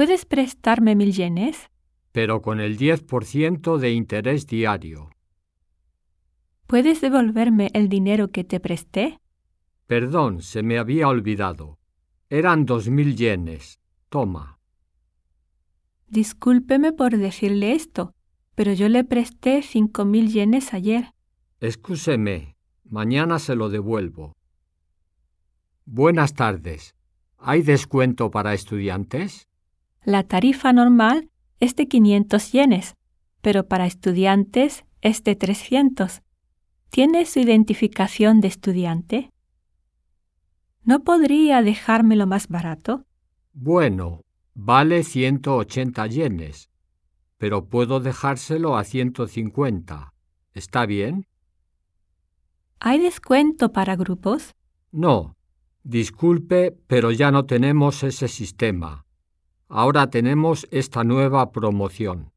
¿Puedes prestarme 1000 yenes? Pero con el 10% de interés diario. ¿Puedes devolverme el dinero que te presté? Perdón, se me había olvidado. Eran 2000 yenes. Toma. Discúlpeme por decirle esto, pero yo le presté 5000 yenes ayer. Excúseme, mañana se lo devuelvo. Buenas tardes. ¿Hay descuento para estudiantes? La tarifa normal es de 500 yenes, pero para estudiantes es de 300. ¿Tiene su identificación de estudiante? ¿No podría dejármelo más barato? Bueno, vale 180 yenes, pero puedo dejárselo a 150. ¿Está bien? ¿Hay descuento para grupos? No. Disculpe, pero ya no tenemos ese sistema. Ahora tenemos esta nueva promoción.